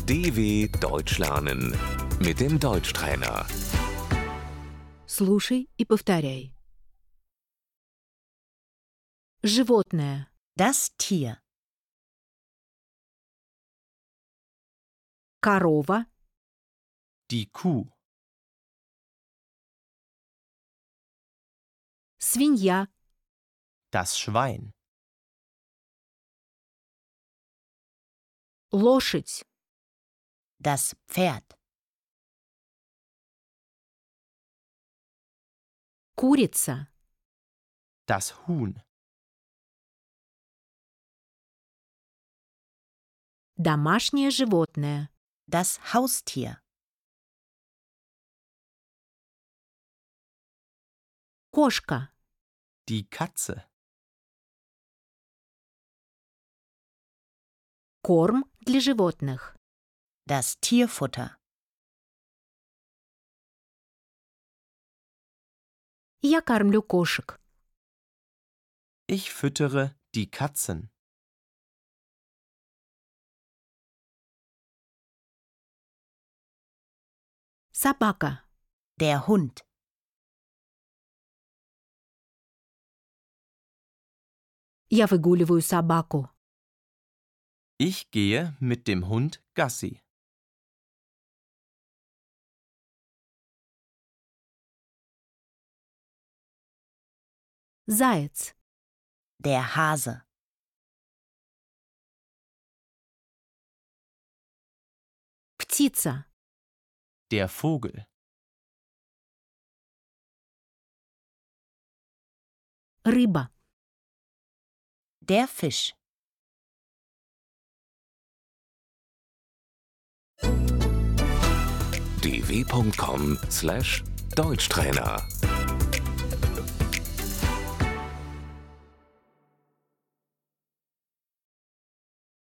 DW Deutsch lernen mit dem Deutschtrainer. Слушай и повторяй. Животное. Das Tier. Корова. Die Kuh, Свинья. das Schwein, Лошадь. Das Pferd. Курица. das Huhn, Домашнее животное. Das Haustier. Кошка. die Katze, Корм для животных. Das Tierfutter. Я кормлю кошек. ich füttere die Katzen, Собака. Der Hund. Я выгуливаю собаку. ich gehe mit dem Hund Gassi, Заяц. Der Hase. Птица. der Vogel, Рыба. Der Fisch. dw.com/Deutschtrainer